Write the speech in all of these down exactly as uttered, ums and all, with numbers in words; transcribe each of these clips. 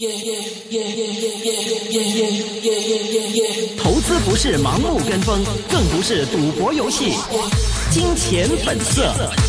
投资不是盲目跟风，更不是赌博游戏。金钱本色。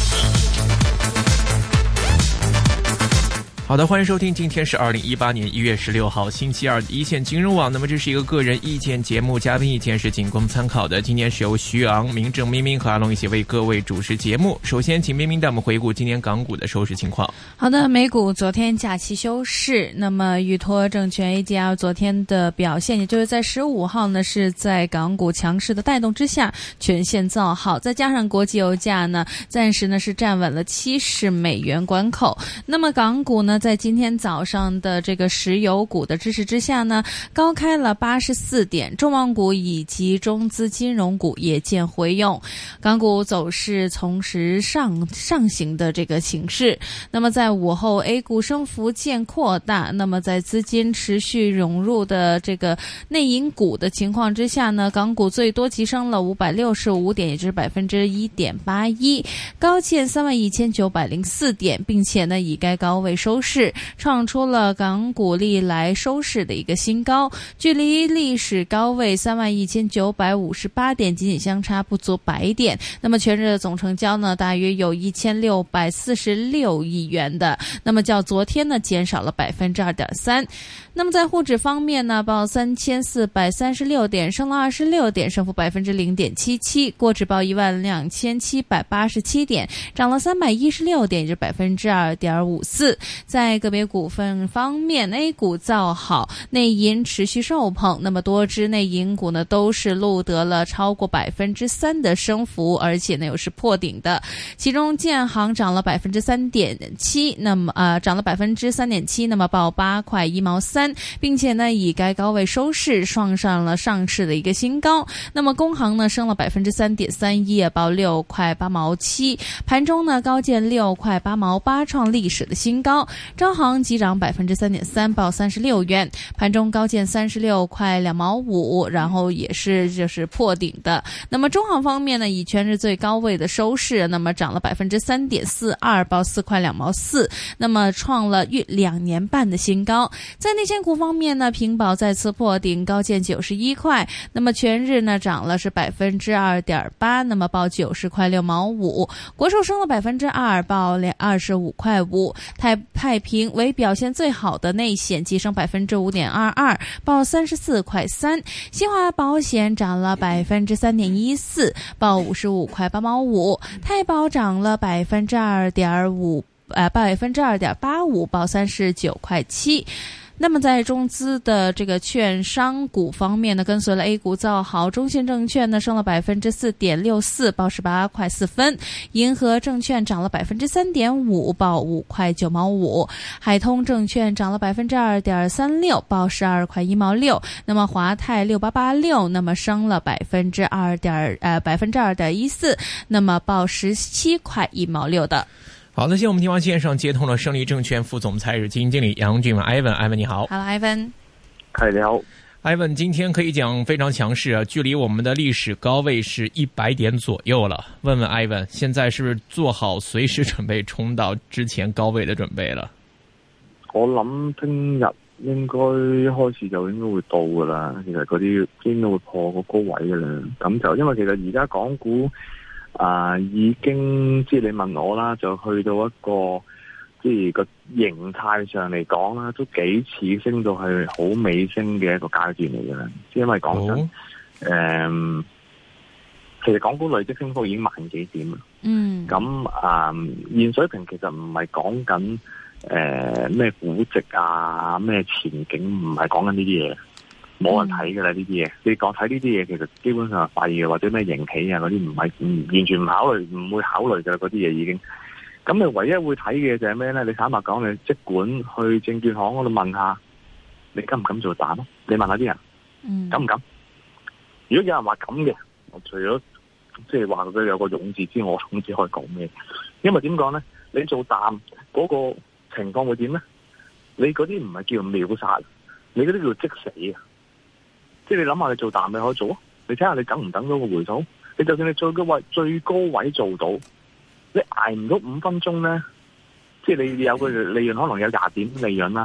好的，欢迎收听，今天是二零一八年一月十六号星期二的一线金融网。那么这是一个个人意见节目，嘉宾意见是仅供参考的。今天是由徐昂、明正、明明和阿龙一起为各位主持节目。首先请明明带我们回顾今天港股的收市情况。 好的，美股昨天假期休市，那么裕托证券 A D R 昨天的表现，也就是在十五号呢，是在港股强势的带动之下全线造好，再加上国际油价呢暂时呢是站稳了七十美元关口。那么港股呢在今天早上的这个石油股的支持之下呢，高开了八十四点，重磅股以及中资金融股也见回勇，港股走势从实上上行的这个形势。那么在午后 A 股升幅见扩大，那么在资金持续涌入的这个内银股的情况之下呢，港股最多急升了五百六十五点，也就是 百分之一点八一， 高见三万一千九百零四点，并且呢以该高位收市，创出了港股历来收市的一个新高，距离历史高位三万一千九百五十八点仅仅相差不足百点。那么全日的总成交呢大约有一千六百四十六亿元的，那么较昨天呢减少了 百分之二点三。 那么在沪指方面呢，报三千四百三十六点，升了二十六点，升幅 百分之零点七七。国指报一万两千七百八十七点，涨了三百一十六点，也就是 百分之二点五四。 在个别股份方面， A 股造好，内银持续受捧，那么多只内银股呢都是录得了超过 百分之三 的升幅，而且呢又是破顶的。其中建行涨了 百分之三点七， 那么呃涨了 百分之三点七， 那么报八块一毛三，并且呢以该高位收市，创上了上市的一个新高。那么工行呢升了 百分之三点三一， 报六块八毛七，盘中呢高见六块八毛八，创历史的新高。招行急涨 百分之三点三， 报三十六元，盘中高见三十六块两毛五，然后也是就是破顶的。那么中行方面呢，以全日最高位的收市，那么涨了 百分之三点四二， 报四块两毛四，那么创了逾两年半的新高。在内险股方面呢，平保再次破顶，高见九十一块，那么全日呢涨了是 百分之二点八， 那么报九十块六毛五。国寿升了 百分之二， 报二十五块五。太太平为表现最好的内险，急升 百分之五点二二， 报三十四块三。新华保险涨了 百分之三点一四， 报五十五块八毛五。太保涨了 百分之二点五， 呃 百分之二点八五， 报三十九块七。那么在中资的这个券商股方面呢，跟随了 A 股造好，中信证券呢升了 百分之四点六四， 报十八块四分。银河证券涨了 百分之三点五， 报五块九毛五。海通证券涨了 百分之二点三六， 报十二块一毛六。那么华泰六八八六，那么升了 百分之二点呃百分之二点一四， 那么报十七块一毛六的。 好，那现在我们电话线上接通了胜利证券副总裁、基金经理杨俊文 Ivan，Ivan 你好。 Hello Ivan。 嗨，你好。 Ivan 今天可以讲非常强势啊，距离我们的历史高位是一百点左右了。问问 Ivan， 现在是不是做好隨時準備衝到之前高位的準備了？ 我諗聽日應該一開始就應該會到噶啦，其實嗰啲應該會破個高位噶啦。咁就因為其實而家港股啊、呃、已經即係你問我啦，就去到一個即係個形態上嚟講啦，都幾似升到係好尾聲嘅一個階段嚟嘅啦。即係因為講真，誒、oh. 呃，其實港股累積升幅已經萬幾點啦。嗯。咁啊、呃，現水平其實唔係講緊誒咩估值啊，咩前景，唔係講緊呢啲嘢。冇人睇㗎啦呢啲嘢，你講睇呢啲嘢其實基本上係廢嘅，或者咩盈喜啊嗰啲唔係唔完全唔考慮，唔會考慮㗎啦嗰啲嘢已經。咁你唯一會睇嘅就係咩咧？你坦白講，你即管去證券行嗰度問下，你敢唔敢做膽咯？你問下啲人，嗯、敢唔敢？如果有人話敢嘅，我除咗即係話佢有個勇字之外，我唔知可以講咩。因為點講咧？你做膽嗰個情況會點咧？你嗰啲唔係叫秒殺，你嗰啲叫即死啊！即係你諗下，你做淡你可以做啊？你睇下你等唔等到個回吐？你就算你最高位最高位做到，你捱唔到五分鐘咧，即係你有個利潤可能有廿點利潤啦，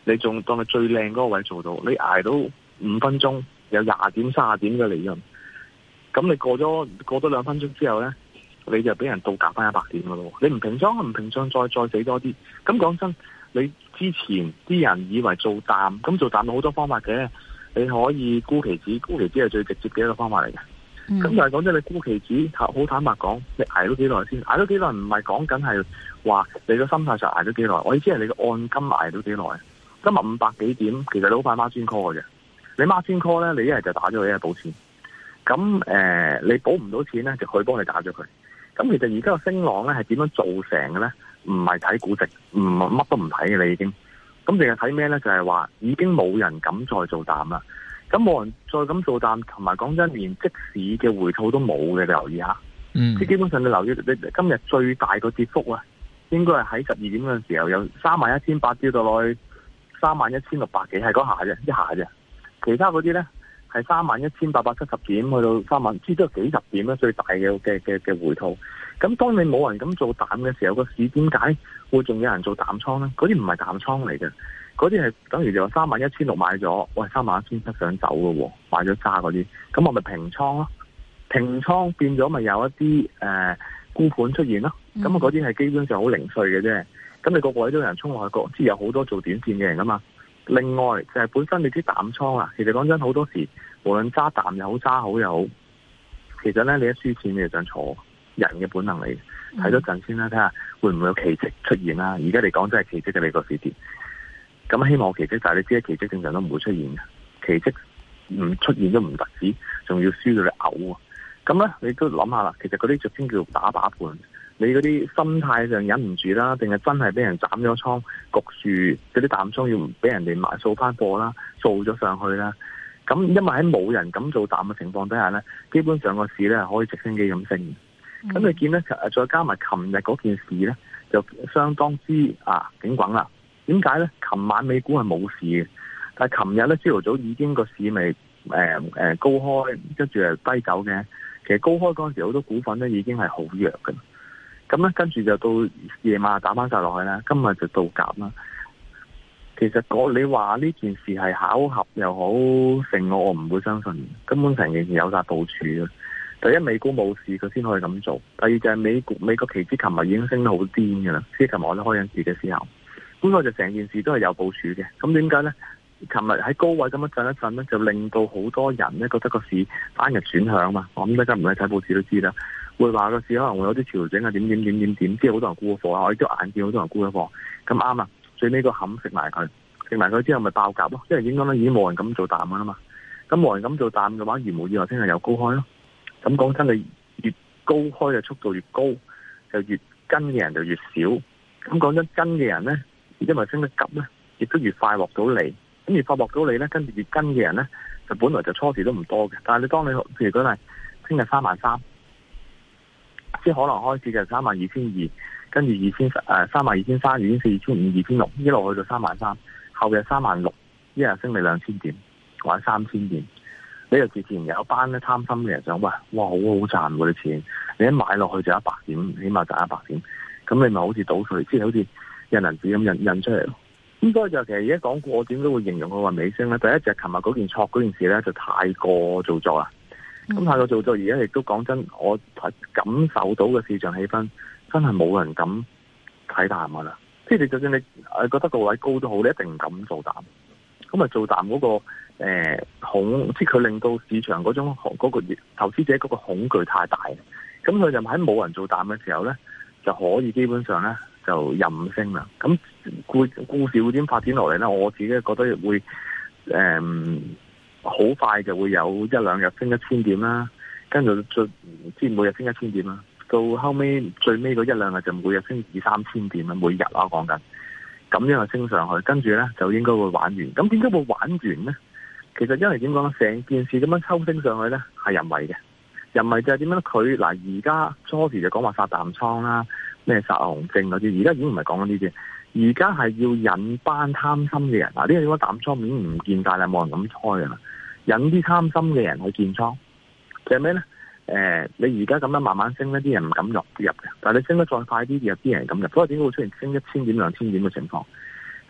你仲當你最靚嗰個位做到，你捱到五分鐘有廿點、三十點嘅利潤，咁你過咗過多兩分鐘之後咧，你就俾人倒夾翻一百點噶咯。你唔平倉，唔平倉，再再死多啲。咁講真，你之前啲人以為做淡，咁做淡有好多方法嘅，你可以沽期指，沽期指係最直接嘅一個方法嚟嘅。咁、嗯、但係講真，你沽期指好坦白講，你捱到幾耐先？捱到幾耐唔係講緊係話你個心態上捱到幾耐，我意思係你個按金捱到幾耐。今日五百幾點，其實你好快孖轉 call 嘅啫。你孖轉 call 咧，你一係就打咗佢，一係補錢。咁誒、呃，你補唔到錢咧，就佢幫你打咗佢。咁其實而家個升浪咧係點樣造成嘅咧？唔係睇估值，唔乜都唔睇嘅你已經。咁淨係睇咩咧？就係、是、話已經冇人敢再做淡啦。咁冇人再咁做淡，同埋講真，連即市嘅回吐都冇嘅，你留意下。嗯。即基本上你留意，你今日最大個跌幅啊，應該係喺十二點嗰陣時候，有三萬一千八跌到落去三萬一千六百幾，係嗰下啫，一下啫。其他嗰啲咧係三萬一千八百七十點去到三萬，至都係幾十點咧，最大嘅嘅嘅嘅回吐。咁當你冇人咁做淡嘅時候，個市點解會仲有人做淡倉咧？嗰啲唔係淡倉嚟嘅。嗰啲係等於就話三萬一千六買咗，喂三萬一千七想走嘅喎，買咗揸嗰啲，咁我咪平倉咯，平倉變咗咪有一啲誒沽盤出現咯，咁啊嗰啲係基本上好零碎嘅啫，咁你個個位都有人衝落去，即係有好多做短線嘅人噶嘛。另外就係、是、本身你啲淡倉啊，其實講真好多時，無論揸淡又好揸好又好，其實咧你一輸錢你就想坐，人嘅本能嚟，睇多陣先啦，睇下會唔會有奇蹟出現啦。而家嚟講真係奇蹟嘅你個市跌。咁希望奇蹟，但係你知奇蹟正常都唔會出現嘅，奇蹟唔出現都唔特止，仲要輸到你嘔啊！咁咧，你都諗下啦，其實嗰啲就先叫做打靶盤，你嗰啲心態上忍唔住啦，定係真係俾人斬咗倉，焗住嗰啲淡倉要俾人哋買掃翻貨啦，掃咗上去啦。咁因為喺冇人咁做淡嘅情況底下咧，基本上個市咧係可以直升機咁升。咁、嗯、你見咧，再加埋琴日嗰件事咧，就相當之啊警滾啦。點解咧？琴晚美股係冇事嘅，但係琴日咧朝頭早已經個市咪誒誒高開，跟住係低走嘅。其實高開嗰陣時好多股份咧已經係好弱嘅，咁咧跟住就到夜晚打翻晒落去啦。今日就倒夾啦。其實我你話呢件事係巧合又好，成我我唔會相信，根本成件事有晒部署嘅。第一，美股冇事佢先可以咁做；第二就係美股美國期指琴日已經升得好癲嘅啦，即係琴日我都開緊市嘅時候。咁我就成件事都係有部署嘅。咁點解咧？琴日喺高位咁樣震一震咧，就令到好多人咧覺得個市單日轉向嘛。我諗大家唔係睇報紙都知啦，會話個市可能會有啲調整啊，點點點點點，即係好多人沽咗貨啊。我亦都眼見好多人沽咗貨。咁啱啊！最尾個冚食埋佢，食埋佢之後咪爆夾咯。因為點講咧，已經冇人咁做淡噶啦嘛。咁冇人咁做淡嘅話，如無意外聽日有高開咯。咁講真，你越高開嘅速度越高，就越跟嘅人就越少。咁講真，跟嘅人咧。因為升得急咧，亦都越快落到嚟，咁越快落到嚟咧，跟住越跟嘅人咧，就本來就初時都唔多嘅。但係你當你譬如講係聽日三萬三，即係可能開始就三萬二千二，跟住二千誒三萬二千三、二千四、二千五、二千六，一路去到三萬三，後日三萬六，一日升你兩千點或者三千點，你就自然有一班咧貪心嘅人想，喂，哇，好好賺嗰啲錢，你一買落去就一百點，起碼賺一百點，咁你咪好似倒水，即係好似。印銀紙咁印印出嚟咯，咁所以就其實而家講過，我點都會形容佢話尾聲咧。第一就係琴日嗰件錯嗰件事咧，就太過做作啦。咁、嗯、太過做作，而家亦都講真，我感受到嘅市場氣氛真係冇人敢睇淡噶啦。即係你就算你誒覺得個位高都好，你一定唔敢做淡。咁啊做淡嗰、嗰個誒恐，即係佢令到市場嗰種嗰、嗰個投資者嗰個恐懼太大。咁佢就喺冇人做淡嘅時候咧，就可以基本上咧。就任升啦，咁故故事會點發展落嚟咧？我自己覺得會誒好、嗯、快就會有一兩日升一千點啦，跟住再即係每日升一千點啦，到後尾最尾嗰一兩日就每日升二三千點啦，每日啦講緊，咁樣就升上去，跟住咧就應該會玩完。咁點解會玩完咧？其實因為點講咧，成件事咁樣抽升上去咧係人為嘅，人為就係點樣咧？佢嗱而家初時就講話殺淡倉啦。咩殺紅證嗰啲，而家已經唔係講緊呢啲，而家係要引班貪心嘅人。嗱，呢個應該淡倉面唔見大啦，冇人咁開㗎啦。引啲貪心嘅人去建倉，就係咩咧？誒、呃，你而家咁樣慢慢升咧，啲人唔敢入入嘅。但係你升得再快啲，有啲人咁入。所以點解會出現升一千點、兩千點嘅情況？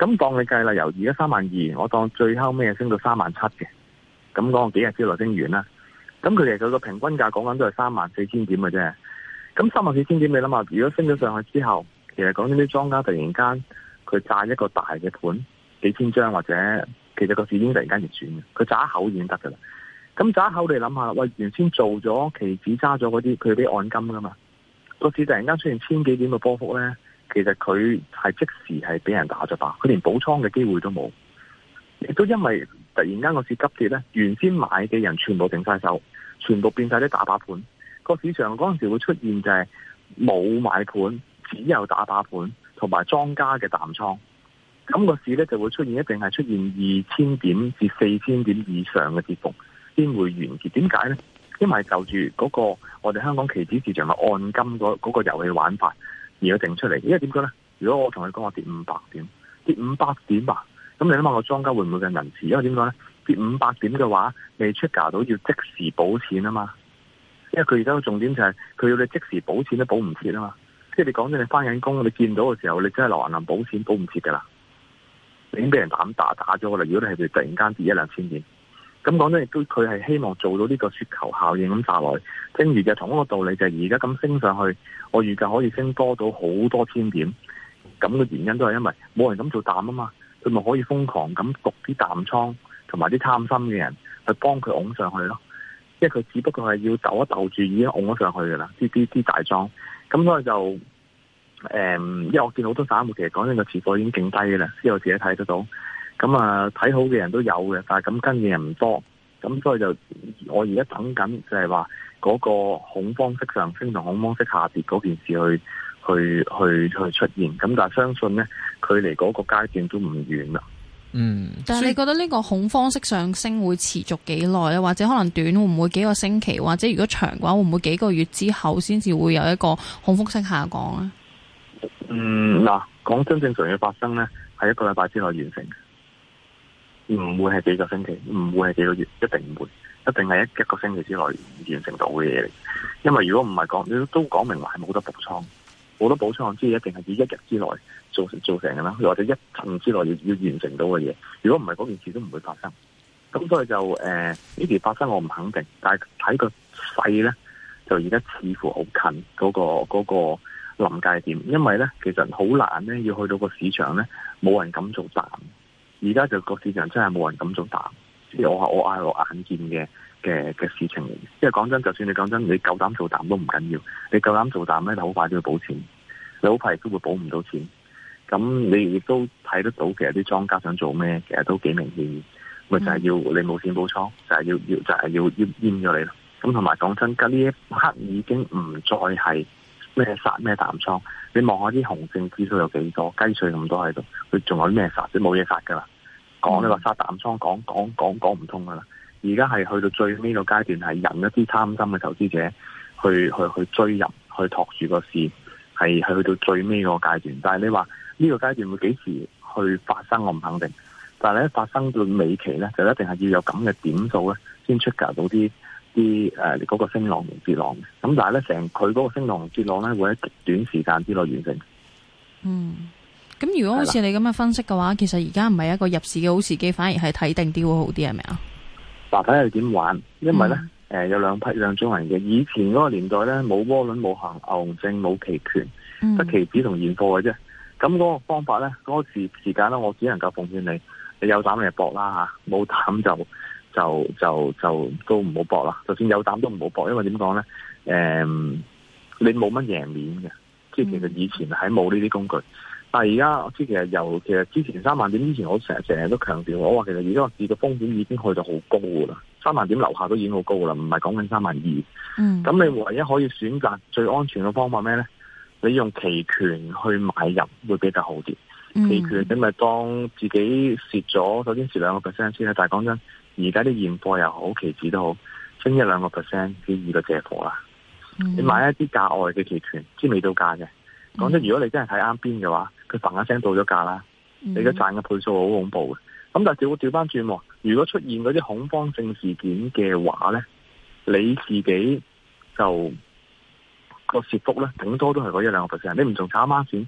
咁當你計啦，由而家三萬二，我當最後尾升到三萬七嘅，咁講個幾日之內升完啦。咁佢其實佢個平均價講緊都係三萬四千點嘅啫。咁三萬四千點你諗下，如果升咗上去之後，其實講緊啲莊家突然間佢炸一個大嘅盤，幾千張或者其實個市已經突然間逆轉嘅，佢炸一口已經得噶啦。咁炸一口你諗下，喂，原先做咗期指揸咗嗰啲，佢俾按金噶嘛，個市突然間出現千幾點嘅波幅咧。其實佢係即時係俾人打咗靶，佢連補倉嘅機會都冇，亦都因為突然間個市急跌咧，原先買嘅人全部定晒手，全部變晒啲打靶盤。個市場嗰陣時會出現就係冇買盤，只有打靶盤，同埋莊家嘅淡倉。咁個市咧就會出現一定係出現二千點至四千點以上嘅跌幅先會完結。點解咧？因為就住嗰個我哋香港期指市場嘅按金嗰嗰個遊戲玩法。而家定出嚟，因為點講咧？如果我同你講我跌五百點，跌五百點啊，咁你諗下個莊家會唔會咁仁慈？因為點講咧？跌五百點嘅話，未出價到要即時補錢啊嘛。因為佢而家個重點就係佢要你即時補錢都補唔切啊嘛。即係你講真，你翻緊工，你見到嘅時候，你真係落銀行補錢補唔切噶啦，你已經俾人膽打打咗噶啦。如果你係突然間跌一兩千點，咁講真，亦都佢係希望做到呢個雪球效應咁炸落去。正如就同一個道理，就係而家咁升上去，我預計可以升多到好多千點。咁嘅原因都係因為冇人敢做淡啊嘛，佢咪可以瘋狂咁焗啲淡倉同埋啲貪心嘅人去幫佢拱上去咯。因為佢只不過係要鬥一鬥住已經拱咗上去噶啦，啲啲啲大莊。咁所以就誒、嗯，因為我見好多散戶其實講緊個持貨已經勁低嘅啦，之後自己睇得到。咁啊，睇好嘅人都有嘅，但係咁跟嘅人唔多。咁所以就我而家等緊就係話嗰個恐慌式上升同恐慌式下跌嗰件事去去去去出現。咁但係相信咧，距離嗰個階段都唔遠啦。 嗯， 但係你覺得呢個恐慌式上升會持續幾耐咧？或者可能短會唔會幾個星期？或者如果長嘅話，會唔會幾個月之後先至會有一個恐慌式下降咧？ 嗯，嗱，講真正常嘅發生咧，係一個禮拜之內完成嘅。唔會係幾個星期，唔會係幾個月，一定唔會，一定係一一個星期之內完成到嘅嘢嚟。因為如果唔係講，你都講明話係冇得補倉，冇得補倉，即係一定係要一日之內做成做成嘅啦，或者一陣之內要要完成到嘅嘢。如果唔係嗰件事都唔會發生。咁所以就誒呢件發生我唔肯定，但係睇個勢咧，就而家似乎好近嗰個嗰個臨界點，因為咧其實好難咧要去到個市場咧冇人敢做淡。而家就個市場真係冇人敢做淡，即係我我嗌我眼見嘅嘅嘅事情嚟。因為講真，就算你講真，你夠膽做淡都唔緊要，你夠膽做淡咧，你好快都要補錢，你好快亦都會補唔到錢。咁你亦都睇得到，其實啲莊家想做咩，其實都幾明顯，咪、嗯、就係、是、要你冇錢補倉，就係、是、要要就係、是、要要閹咗你咯。咁同埋講真，呢一刻已經唔再係咩殺咩淡倉。你望下啲熊證指數有幾多，雞碎咁多喺度，佢仲有啲咩殺？即冇嘢殺噶啦。講你話殺淡倉，講講講講唔通噶啦。而家係去到最尾個階段，係引一啲貪心嘅投資者去去去追入，去托住個市，係係去到最尾個階段。但係你話呢個階段會幾時去發生，我唔肯定。但係咧發生到尾期咧，就一定係要有咁嘅點數咧，先出價到啲啲誒嗰個升浪同跌浪嘅。咁但係咧，成佢嗰個升浪同跌浪咧，會喺極短時間之內完成。 嗯。咁如果好似你咁嘅分析嘅話，其實而家唔係一個入市嘅好時機，反而係睇定啲會好啲，係咪啊？嗱，睇下點玩，因為咧，誒、嗯呃、有兩批兩種人嘅。以前嗰個年代咧，冇窩輪、冇行牛熊證、冇期權，得期指同現貨嘅啫。咁嗰個方法咧，嗰、那個時時間咧，我只能夠奉勸你，你有膽你就搏啦吓，冇膽就就就就，就都唔好搏啦。就算有膽都唔好搏，因為點講咧？誒、嗯，你冇乜贏面嘅，即係其實以前係冇呢啲工具。但係而家我知其實由其實之前三萬點之前，我成日成日都強調，我話其實而家個市嘅風險已經去到好高噶啦，三萬點樓下都已經好高噶啦，唔係講緊三萬二。嗯，咁你唯一可以選擇最安全嘅方法咩咧？你用期權去買入會比較好啲。嗯、期權你咪當自己蝕咗，首先蝕兩個 percent 先啦。但係講真，而家啲現貨又好，期指都好，升一兩個 percent，幾易就借貨啦。嗯、你買一啲價外嘅期權，知未到價嘅。講真，如果你真係睇啱邊嘅話，佢嘭一聲到咗價啦，你而家賺嘅倍數好恐怖嘅。咁但係調調翻轉，如果出現嗰啲恐慌性事件嘅話咧，你自己就個蝕幅咧，頂多都係嗰一兩個 percent。你唔仲炒孖展，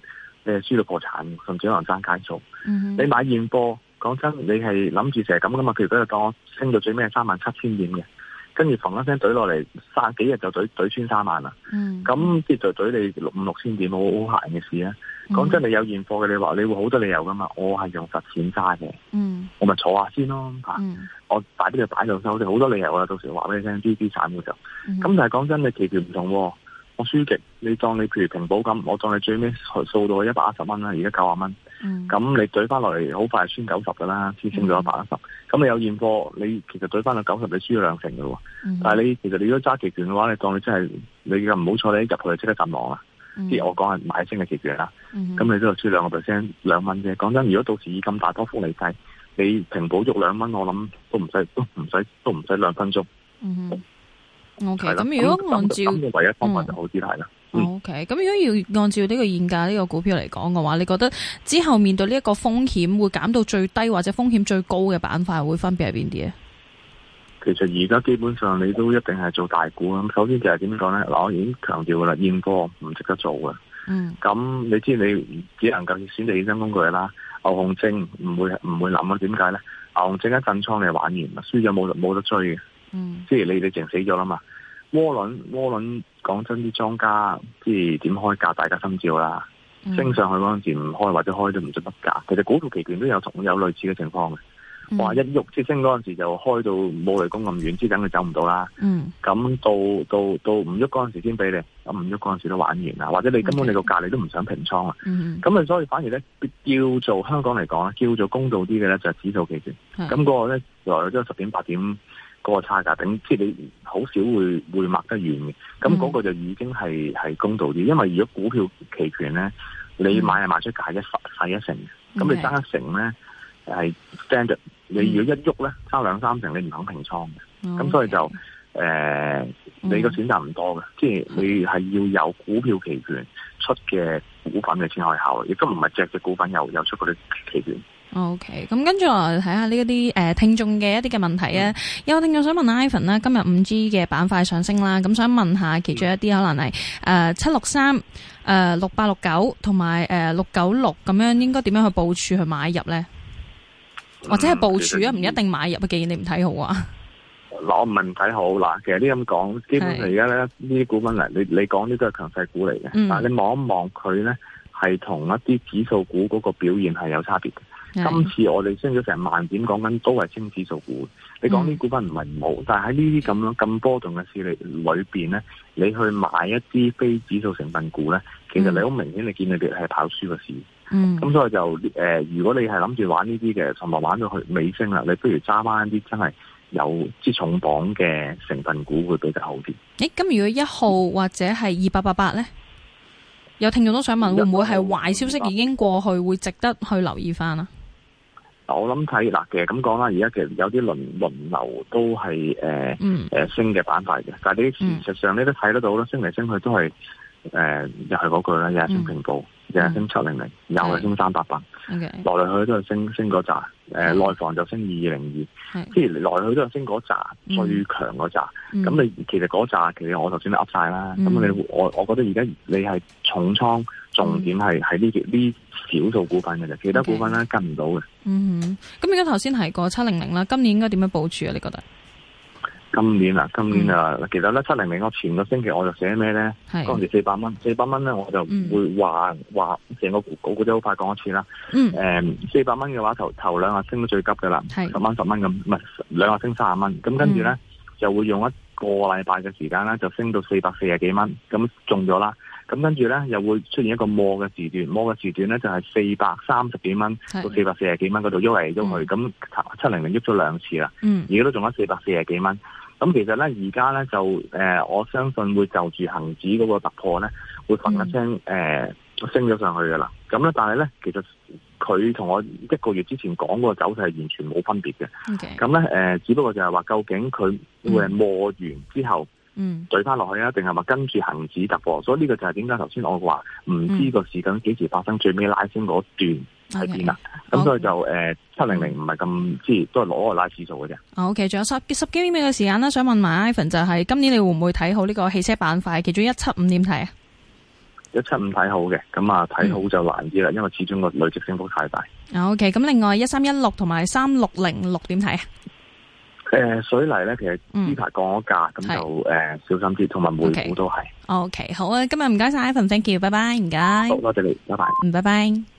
你係輸到破產，甚至可能爭街數。 嗯、 你買現貨，講真，你係諗住成日咁噶嘛？譬如嗰日當我升到最尾係三萬七千點嘅，跟住嘭一聲懟落嚟，三幾日就懟懟穿三萬啦。咁即係就懟你六五六千點，好好閒嘅事啊！講、嗯、真，你有現貨嘅，你話你會好多理由噶嘛？我係用實錢揸嘅， 嗯、 我咪坐下先咯吓。 嗯、 我擺啲就擺度收，好多理由啊！到時話俾你聽，啲資產嘅就咁。嗯、但係講真，你期權唔同，我輸極，你當你譬如平保咁，我當你最尾掃到一百一十蚊啦，而家九十蚊。咁、嗯、你懟翻落嚟，好快係穿九十噶啦，先升咗一百一十。咁你有現貨，你其實懟翻到九十，你輸咗兩成嘅喎。嗯、但係你其實你如果揸期權嘅話，你當你真係你嘅唔好彩，你入去即刻陣亡啦。即係、嗯、我講係買升嘅期權啦。咁、嗯、你都係輸兩個 percent 兩蚊啫。講真，如果到時以咁大波幅嚟計，你平保足兩蚊，我諗都唔使都唔使都唔使兩分鐘。 嗯 O K，咁如果按照咁唯一方法就好啲係啦。 O K，咁如果要按照呢個現價呢個股票嚟講嘅話，你覺得之後面對呢一個風險會減到最低或者風險最高嘅板塊會分別係邊啲咧？ 其實而家基本上你都一定係做大股咁。首先就係點講咧？嗱，我已經強調噶啦，現貨唔值得做嘅。嗯。咁你知你只能夠選擇衍生工具啦。牛熊證唔會唔會諗啊？點解咧？牛熊證一震倉你玩完啦，輸咗冇冇得追嘅。嗯，即係你你淨死咗啦嘛。窩輪窩輪講真，啲莊家即係點開價，大家心照啦。嗯、升上去嗰陣時唔開或者開都唔知乜價。其實股票期權都有同有類似嘅情況嘅。話、嗯、一喐即係升嗰陣時就開到冇雷公咁遠，之等佢走唔到啦。嗯，咁到到到唔喐嗰陣時先俾你，咁唔喐嗰陣時都玩完啦。或者你根本你個價你都唔想平倉啊。嗯，咁啊所以反而咧叫做香港嚟講咧，叫做公道啲嘅咧就係指數期權。咁嗰、嗯、個咧來都十點八點嗰個差價頂，即係你好少會會擘得遠嘅。咁嗰個就已經係係公道啲，因為如果股票期權咧，你買係賣出價一細一成，咁、嗯、你爭一成咧係 standard。你如果一喐咧，差兩三成，你唔肯平倉嘅，咁、嗯、所以就誒、呃嗯，你個選擇唔多嘅，即係你係要有股票期權出嘅股份嘅先可以考慮，亦都唔係隻隻股份有有出嗰啲期權。 OK，咁跟住我睇下呢一啲誒聽眾嘅一啲嘅問題啊，嗯、有聽眾想問 Ivan 啦，今日五 G 嘅板塊上升啦，咁想問下其中一啲可能係誒七六三、誒六八六九同埋誒六九六咁樣，應該點樣去部署去買入咧？或者係部署啊，唔一定買入啊。既然你唔睇好啊， 嗱，我唔係唔睇好嗱。其實呢咁講，基本上而家咧呢啲股份嚟，你你講呢都係強勢股嚟嘅。嗯、但係你望一望佢咧，係同一啲指數股嗰個表現係有差別嘅。今次我哋升咗成萬點，講緊都係升指數股。你講啲股份唔係唔好，嗯、但係喺呢啲咁樣咁波動嘅市裏裏邊咧，你去買一啲非指數成分股咧，其實你好明顯你見你哋係跑輸個市。嗯，咁所以就誒、呃，如果你係諗住玩呢啲嘅，同埋玩到去尾聲啦，你不如揸翻啲真係有支重磅嘅成分股會比較好啲。誒，咁如果一號或者係二八八八咧，有聽眾都想問，會唔會係壞消息已經過去，會值得去留意翻啊？我諗睇嗱，其實咁講啦，而家其實有啲輪輪流都係誒誒升嘅板塊嘅，但係你事實上你都睇得到啦，升嚟升去都係。誒、呃，又係嗰句啦，又係升平保，又係、嗯、升七零零，又係升三八八，來來去去都係升升嗰扎。誒、呃，內、嗯、房就升二二零二，即係來來去都係升嗰扎、嗯、最強嗰扎。咁、嗯、你其實嗰扎，其實我頭先都噏晒啦。咁、嗯、你我我覺得而家你係重倉，重點係喺呢啲呢少數股份嘅啫，其他股份咧跟唔到嘅。嗯哼，咁而家頭先提過七零零啦，今年應該點樣部署啊？你覺得？今年啊，今年啊，嗯、其實咧七零零，我前個星期我就寫咩咧？嗰陣時四百蚊，四百蚊咧我就會話話成個股股都好快講一次啦。嗯。誒，四百蚊嘅話，頭頭兩日升得最急噶啦，十蚊十蚊咁，唔係兩日升三十蚊。咁跟住咧、嗯、就會用一個禮拜嘅時間咧，就升到四百四十幾蚊，咁中咗啦。咁跟住咧又會出現一個摸嘅時段，摸嘅時段咧就係四百三十幾蚊到四百四十幾蚊嗰度喐嚟喐去，咁七零零喐咗兩次啦。嗯。而家都仲有四百四十幾蚊。咁其實咧，而家咧就誒、呃，我相信會就住恒指嗰個突破咧，會嘭一聲誒升咗上去噶啦。咁咧，但係咧，其實佢同我一個月之前講嗰個走勢係完全冇分別嘅。咁咧誒，只不過就係話，究竟佢會係摸完之後，嗯，對翻落去啊，定係話跟住恒指突破？所以呢個就係點解頭先我話唔知個時間幾時發生，嗯、最尾拉升嗰段。喺邊啊？咁 Okay. 所以就誒七零零唔係咁，即係都係攞個拉指數嘅啫。O K，仲有十十幾秒嘅時間啦，想問埋 Ivan 就係、是、今年你會唔會睇好呢個汽車板塊？其中一七五點睇啊？ 一七五睇好嘅，咁啊睇好就難啲啦，因為始終個累積升幅太大。 O K， 咁另外一三一六同埋三六零六點睇啊？ 誒、呃，水泥咧，其實呢排降咗價，咁、嗯、就誒、呃、小心啲，同埋煤股都係。 O K，好啊，今日唔該晒 Ivan，thank you，拜拜，唔該。 好，多謝你，拜拜。 嗯，拜拜。